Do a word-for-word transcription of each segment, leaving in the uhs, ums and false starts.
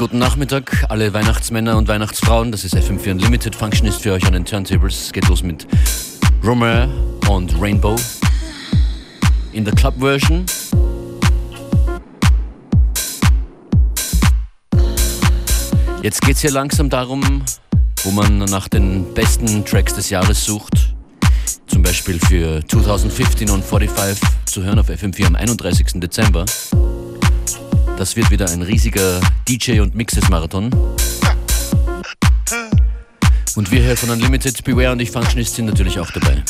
guten Nachmittag, alle Weihnachtsmänner und Weihnachtsfrauen. Das ist F M vier Unlimited. Functionist für euch an den Turntables. Es geht los mit Romer und Rainbow in der Club-Version. Jetzt geht es hier langsam darum, wo man nach den besten Tracks des Jahres sucht. Zum Beispiel für zwanzig fünfzehn und fünfundvierzig zu hören auf F M vier am einunddreißigsten Dezember. Das wird wieder ein riesiger D J- und Mixes-Marathon. Und wir hier von Unlimited, Beware und ich, Functionist, sind natürlich auch dabei.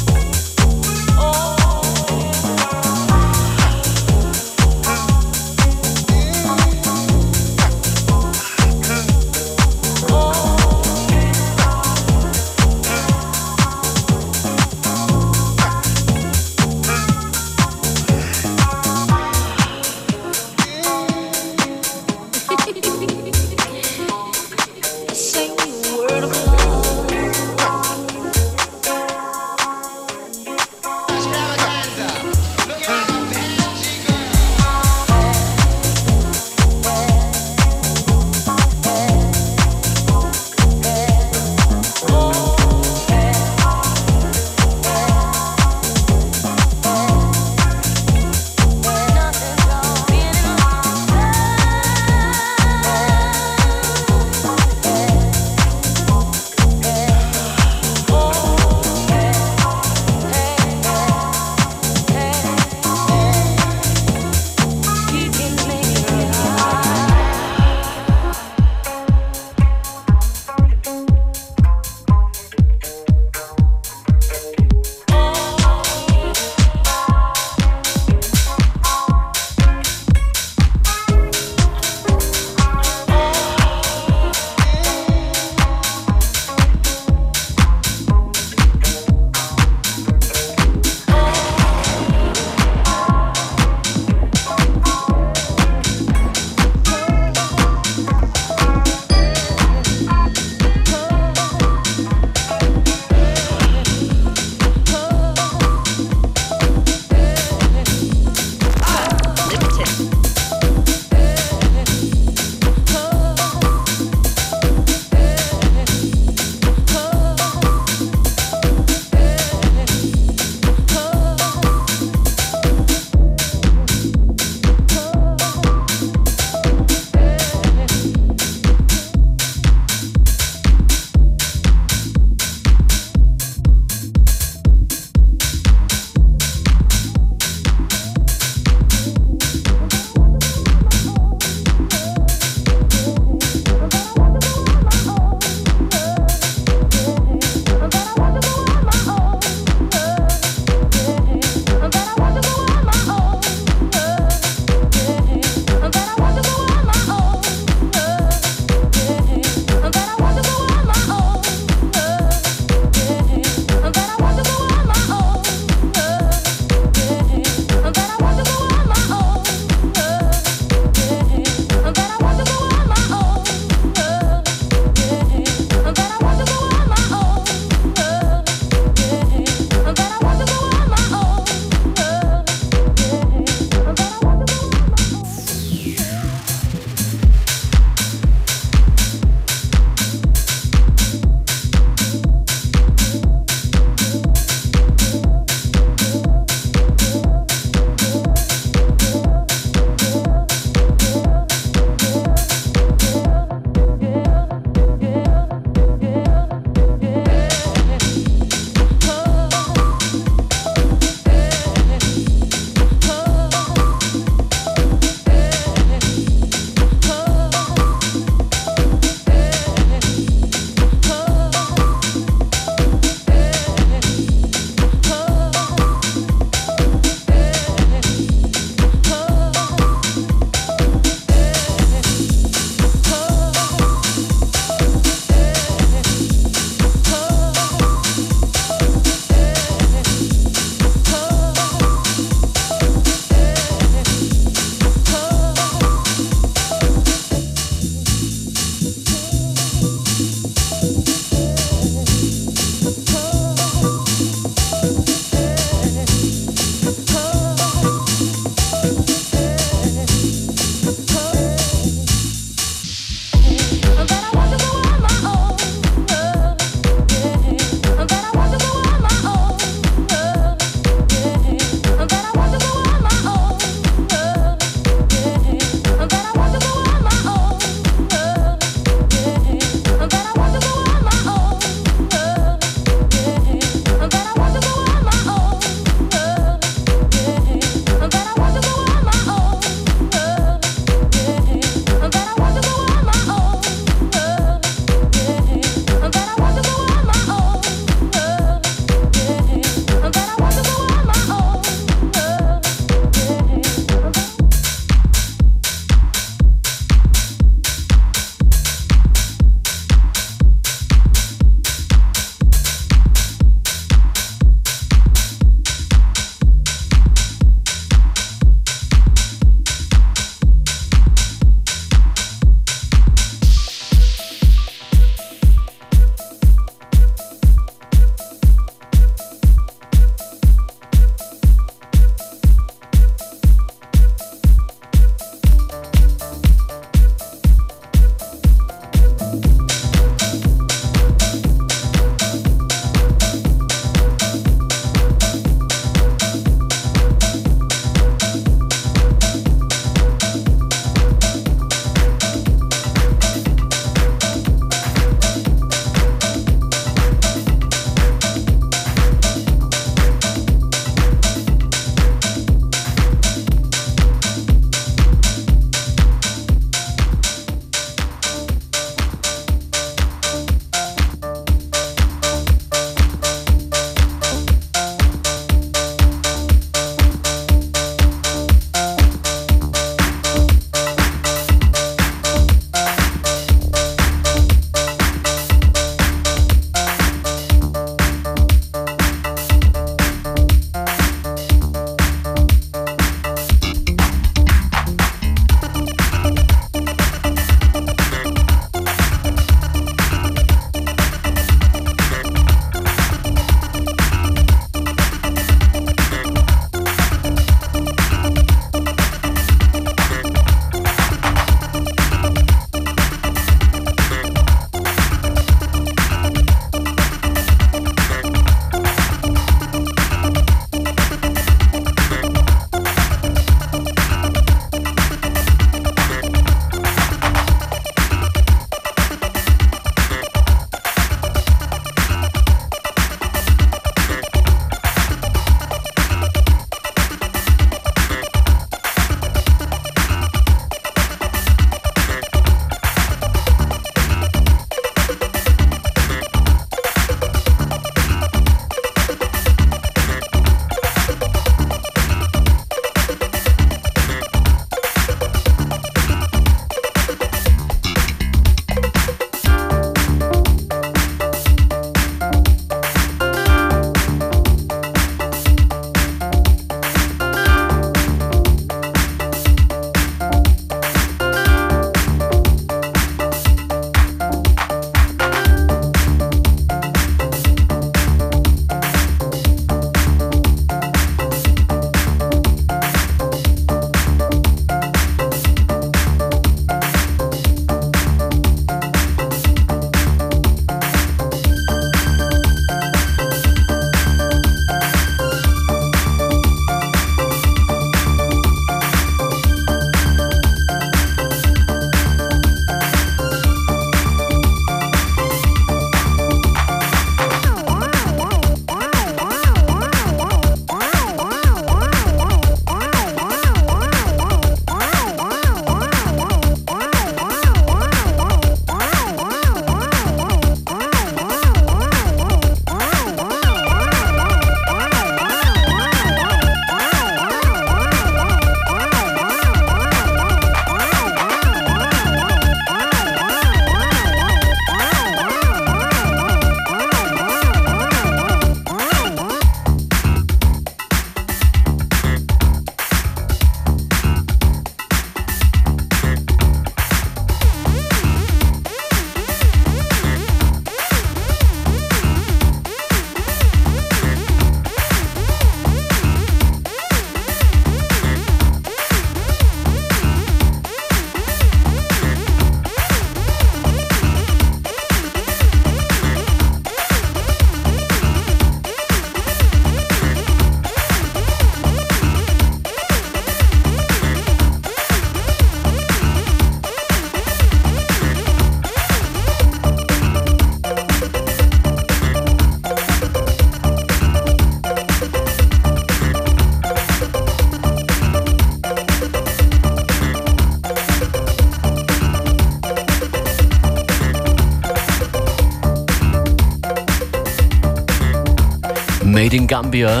Made in Gambia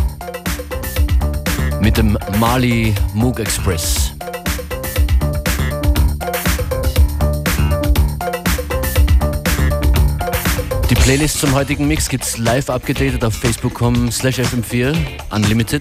mit dem Mali Moog Express. Die Playlist zum heutigen Mix gibt's live abgedatet auf facebook punkt com slash f m vier Unlimited.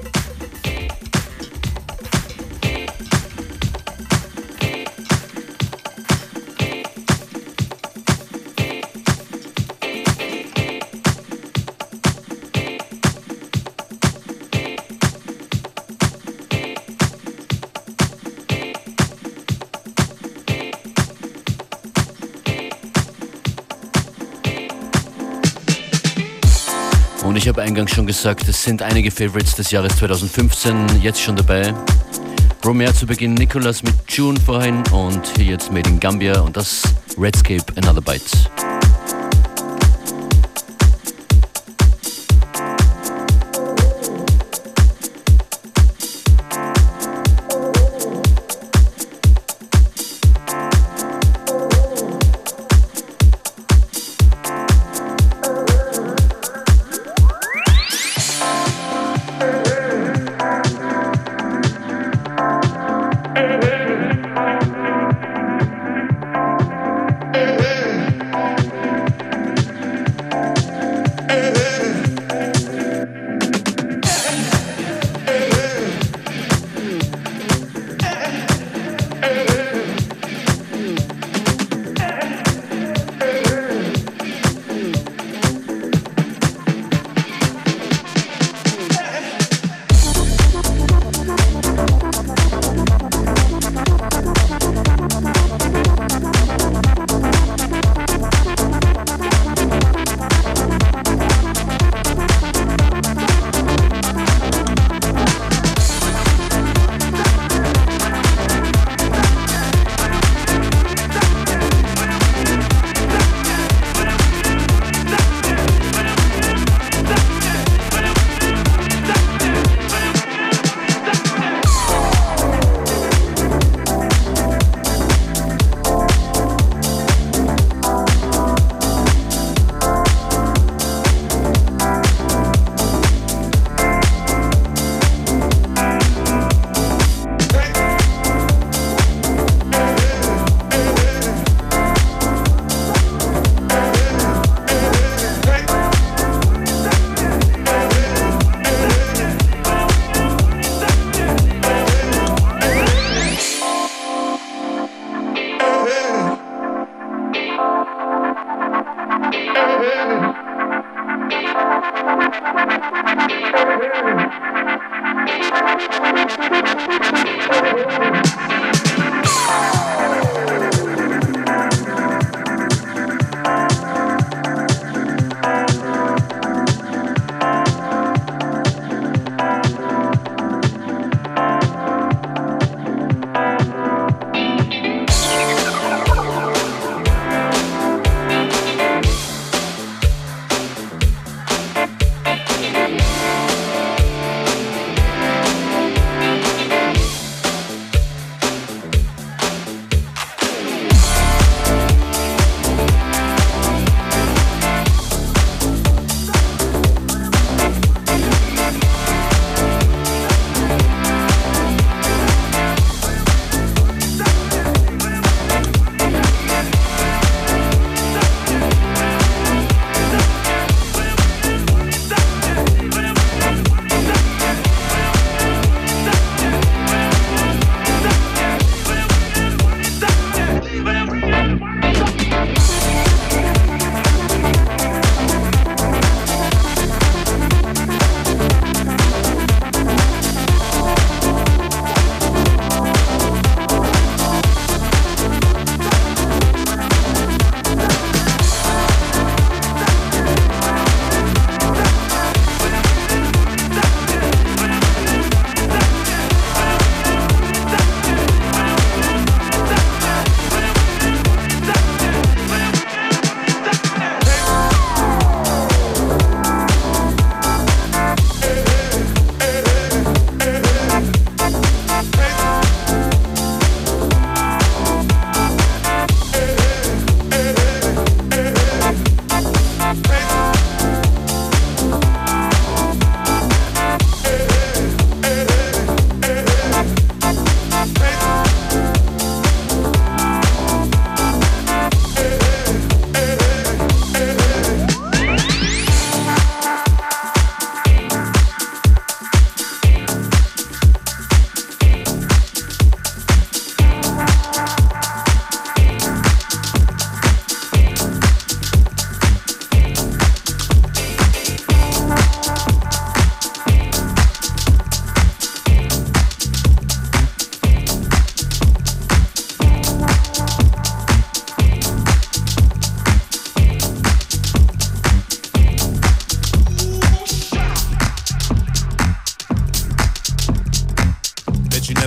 Und ich habe eingangs schon gesagt, es sind einige Favorites des Jahres zwanzig fünfzehn jetzt schon dabei. Romeo zu Beginn, Nicholas mit June vorhin und hier jetzt Made in Gambia und das Redscape Another Bite.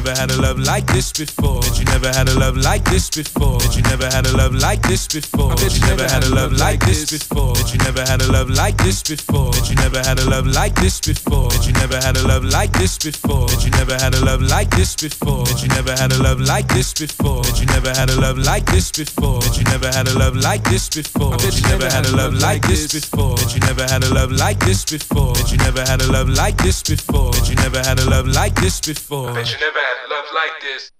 never had a love like this before. Bet you never had a love like this before. Bet you never had a love like this before. Bet you never had a love like this before. Bet you never had a love like this before. Bet you never had a love like this before. Bet you never had a love like this before. Bet you never had a love like this before. Bet you never had a love like this before. Bet you never had a love like this before. Bet you never had a love like this before. Bet you never had a love like this before. Bet you never had a love like this before. Bet you never had a love like this before. Bet you never had a love like this before. Bet you never had a love like this.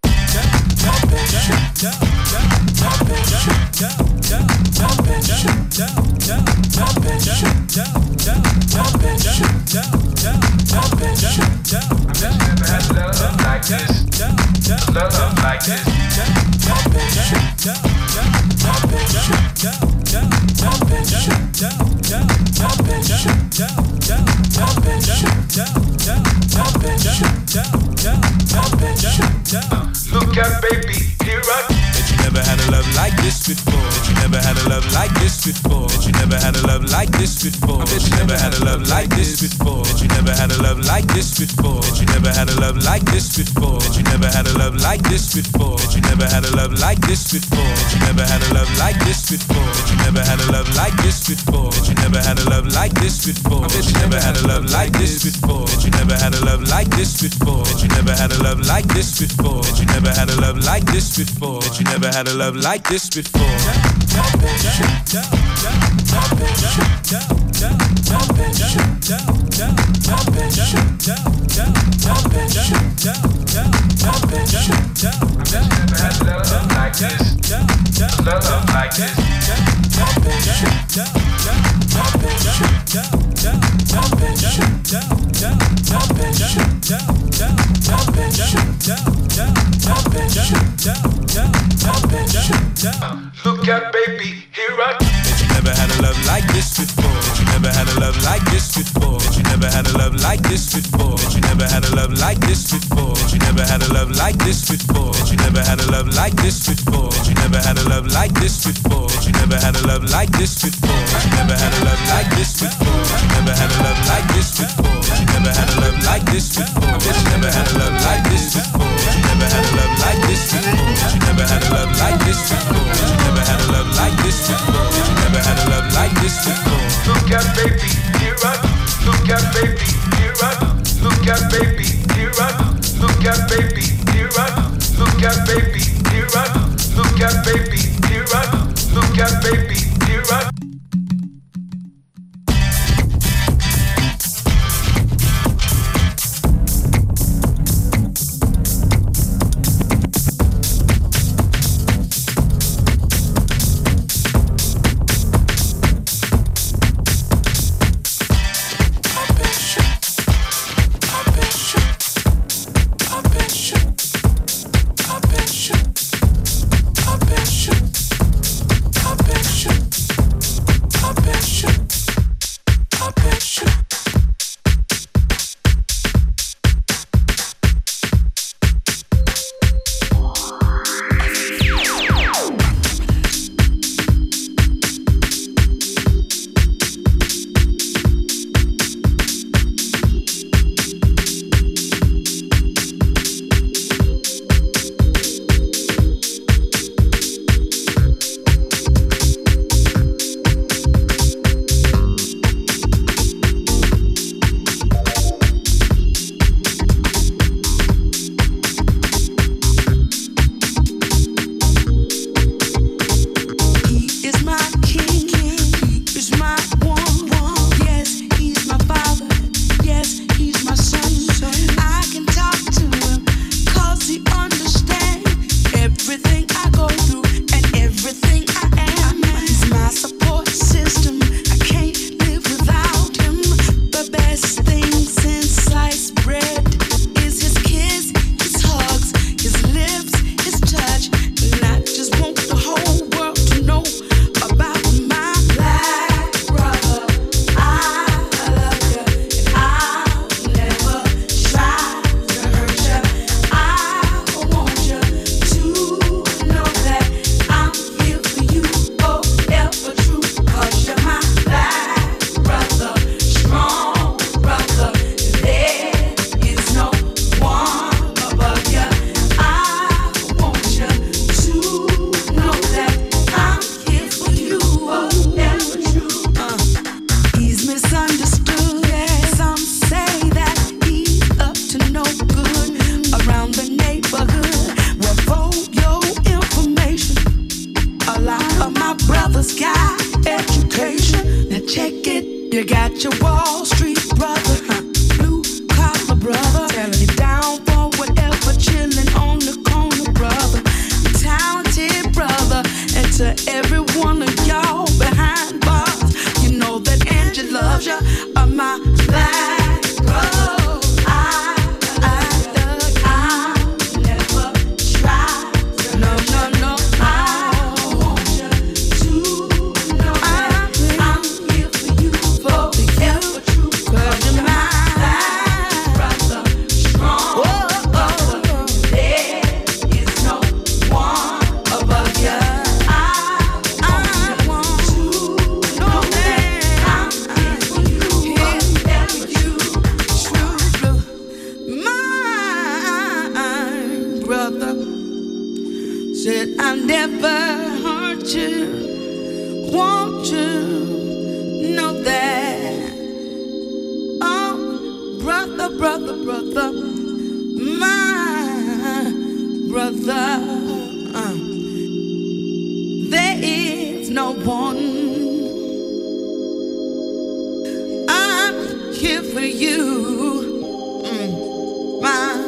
Look out, baby, here I come. Bet you never had a love like this before. Bet you never had a love like this before. Bet you never had a love like this before. Bet you never had a love like this before. Bet you never had a love like this before. Bet you never had a love like this before. Bet you never had a love like this before. Bet you never had a love like this before. Bet you never had a love like this before. Bet you never had a love like this before. Bet you never had a love like this before. Bet you never had a love like this before. Bet you never had a love like this before. Bet you never had a love like this before. Bet you never had a love like this before. Bet you never had a love like this before. Look out, baby, here I come. Bet you never had a love like this before. Bet you never had a love like this before. Bet you never had a love like this before. Bet you never had a love like this before. Bet you never had a love like this before. Bet you never had a love like this before. Bet you never had a love like this before. Bet you never had a love like this before. Bet you never had a love like this before. Bet you never had a love like this before. Bet you never had a love like this before. Bet you never had a love like this before. Bet you never had a love like this before. Bet you never had a love like this before. Bet you never had a love like this before. Bet you never had a love like this before. Look out, baby, here I come. Look out, baby, here I come. Look out, baby, here I come. Look out, baby, here I come. Look out, baby, here I come. Look out, baby, here I come. Look out, baby, here I come. I bet you brother, brother, brother, my brother. Uh, there is no one. I'm here for you, mm, my.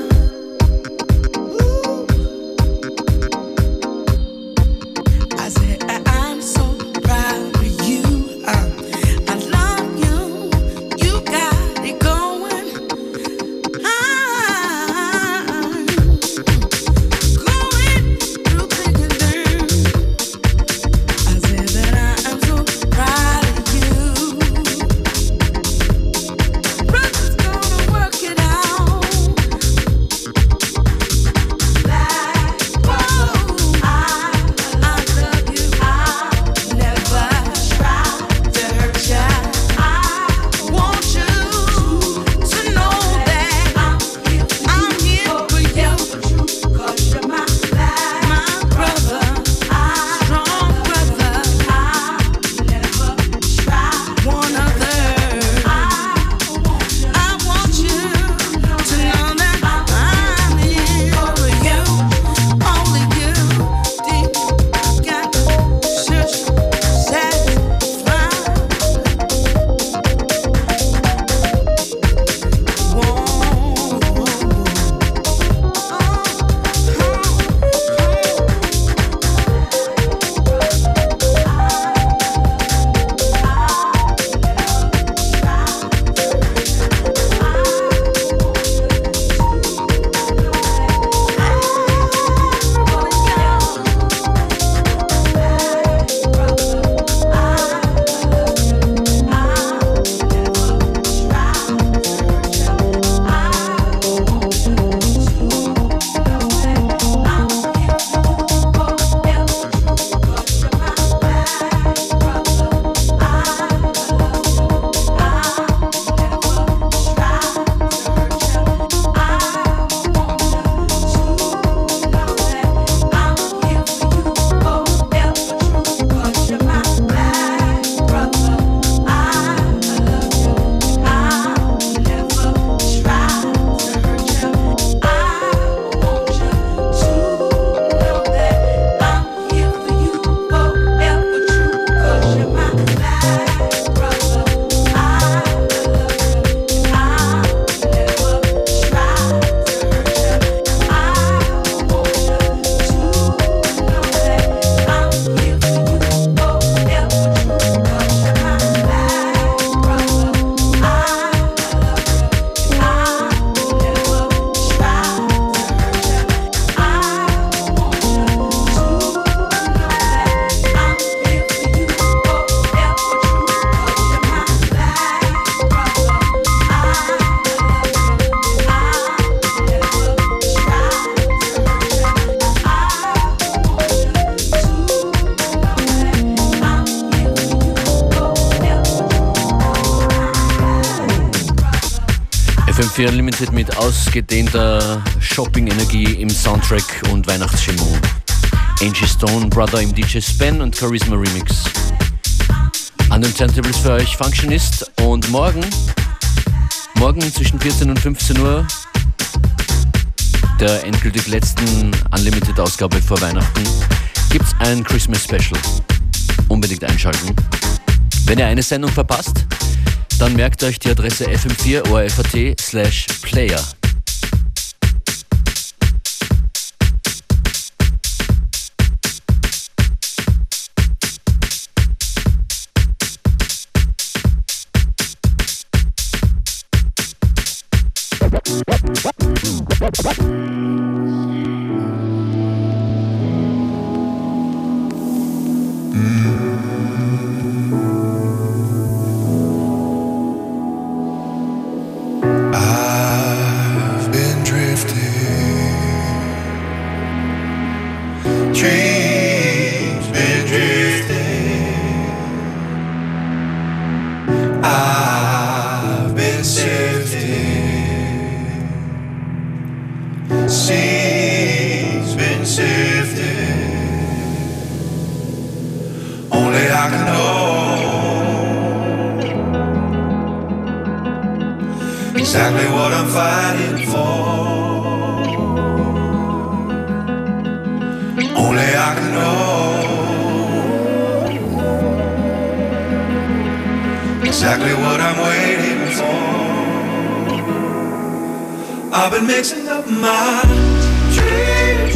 F M vier Unlimited mit ausgedehnter Shopping-Energie im Soundtrack und Weihnachtsstimmung. Angie Stone, Brother im D J Spen und Charisma Remix. An den Turntables für euch Functionist und morgen, morgen zwischen vierzehn und fünfzehn Uhr, der endgültig letzten Unlimited-Ausgabe vor Weihnachten, gibt's ein Christmas Special. Unbedingt einschalten. Wenn ihr eine Sendung verpasst, dann merkt euch die Adresse f m vier o r f a t slash player. exactly what I'm fighting for. Only I can know exactly what I'm waiting for. I've been mixing up my dreams.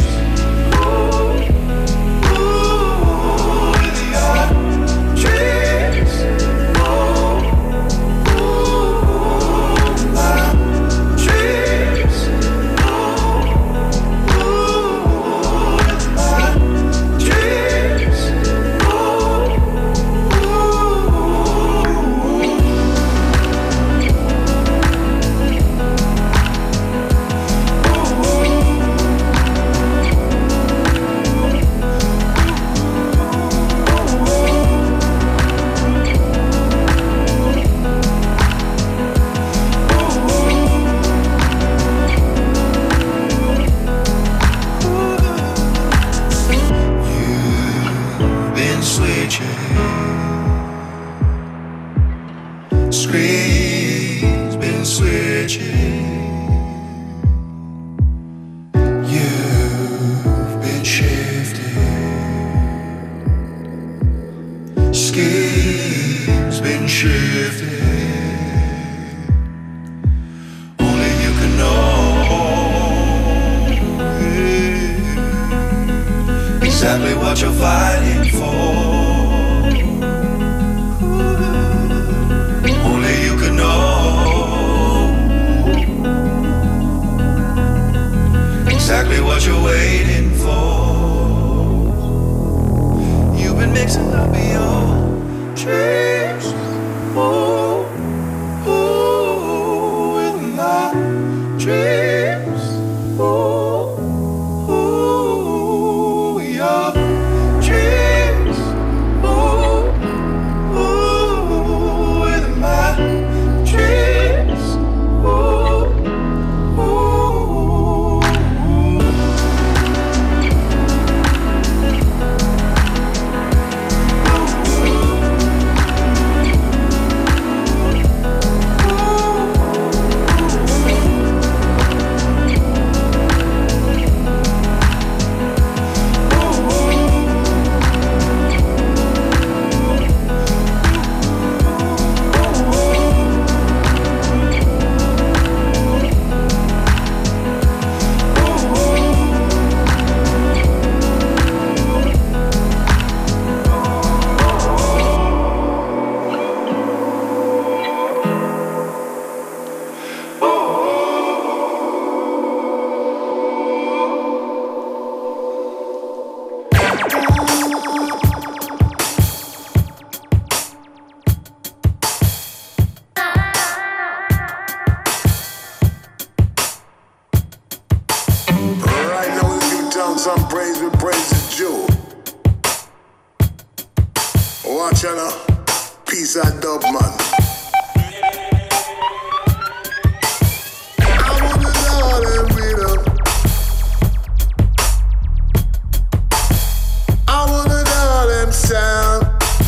Screen's been switching. You've been shifting. Schemes been shifting. Only you can know exactly what you're fighting for. Exactly what you're waiting for. You've been mixing up your dreams, ooh, ooh, with my dreams, ooh, ooh, your dreams, ooh, ooh, with my dreams, ooh, ooh. Some praise with praise is due. Watch out now, peace and dub man. I wanna know them rhythm. I wanna know them sound.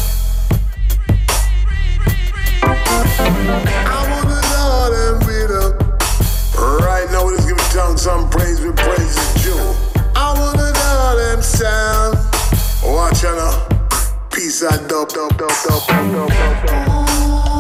I wanna know them rhythm. Right now, let's give tongue some praise with praise is due. I wanna know them sound. Watch out now, peace and dub, dub, dub, dub, dub, dub, dub.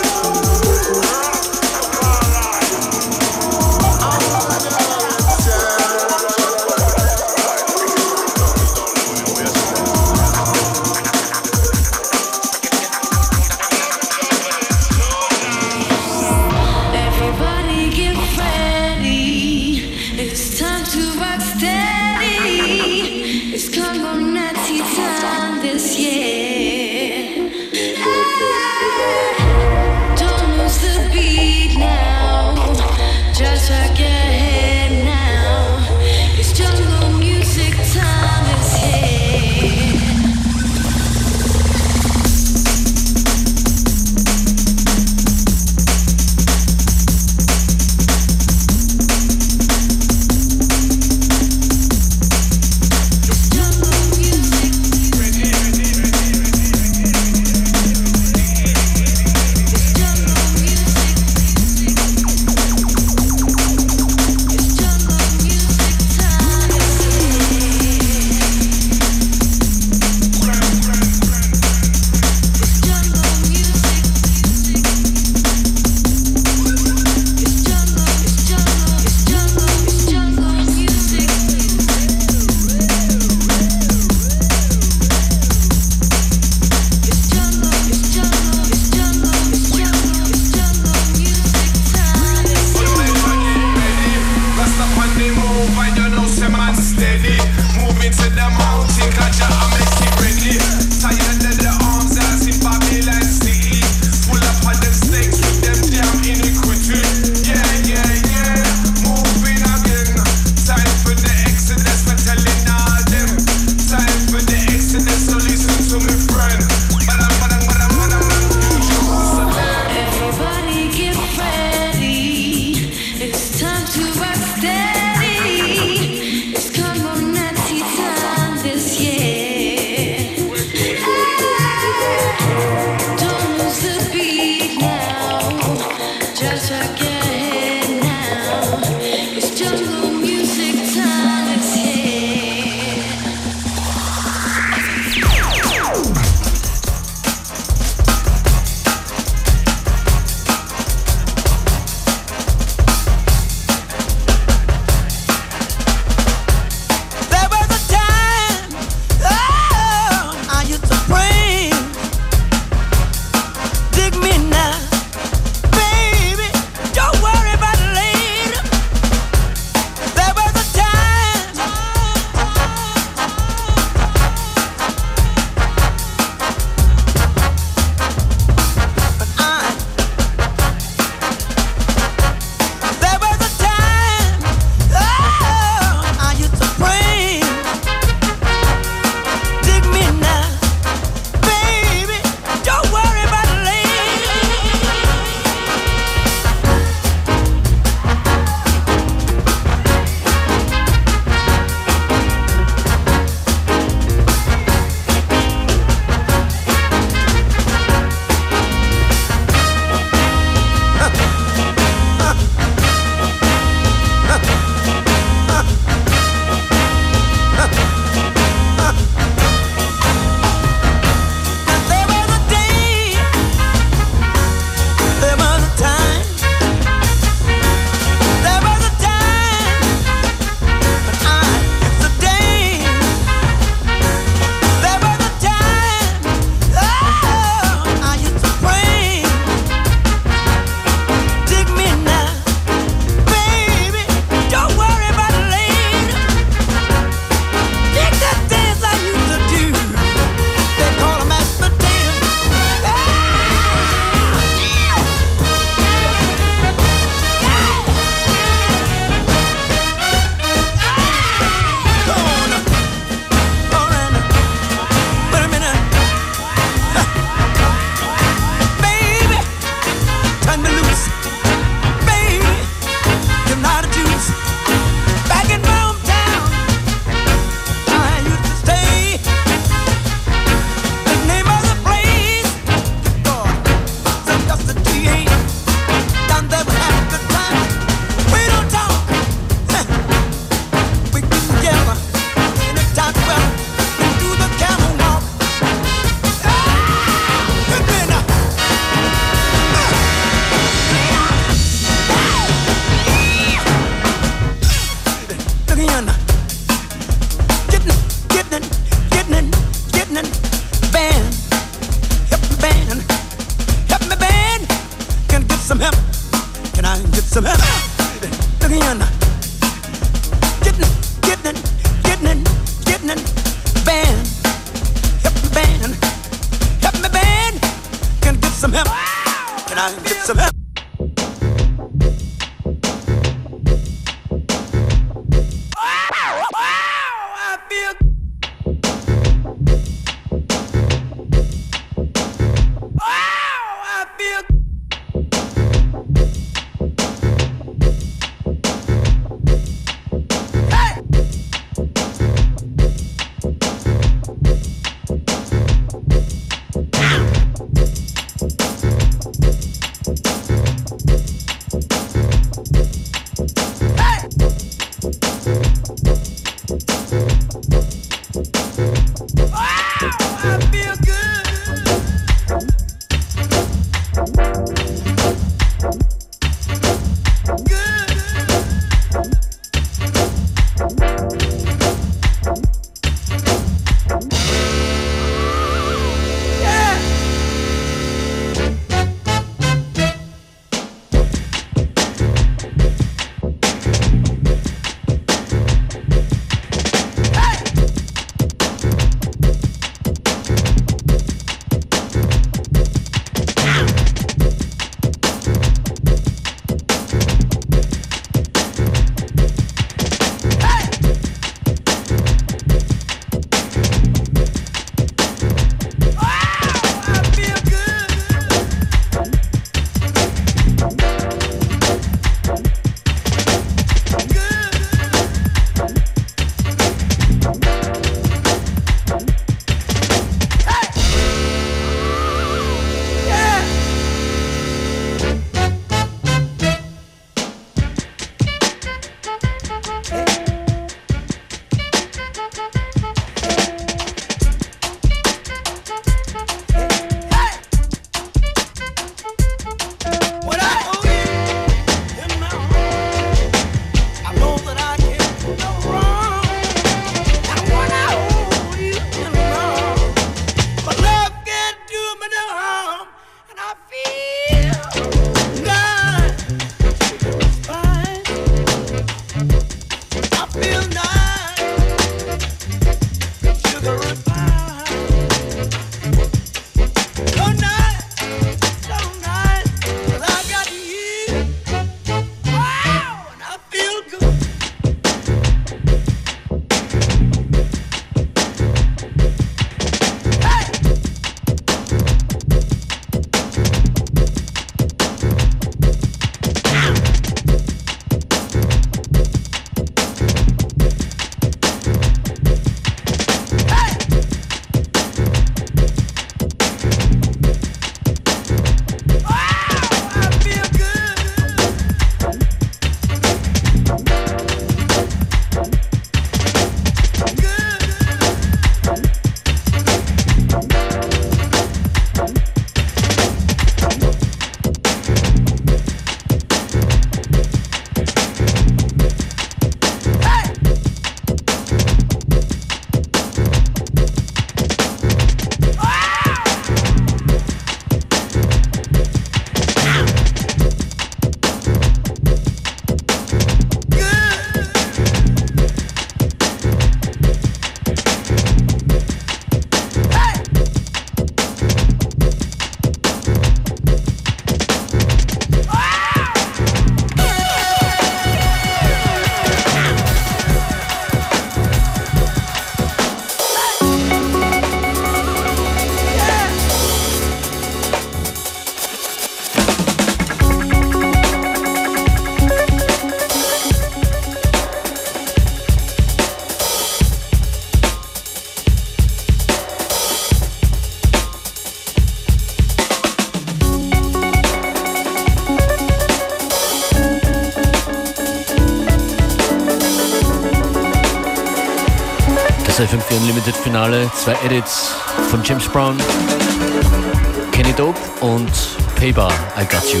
Das F M vier Unlimited Finale, zwei Edits von James Brown, Kenny Dope und Paybar, I Got You.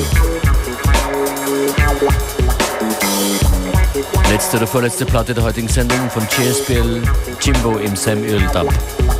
Letzte oder vorletzte Platte der heutigen Sendung von J S P L, Jimbo im Sam Earl Dub.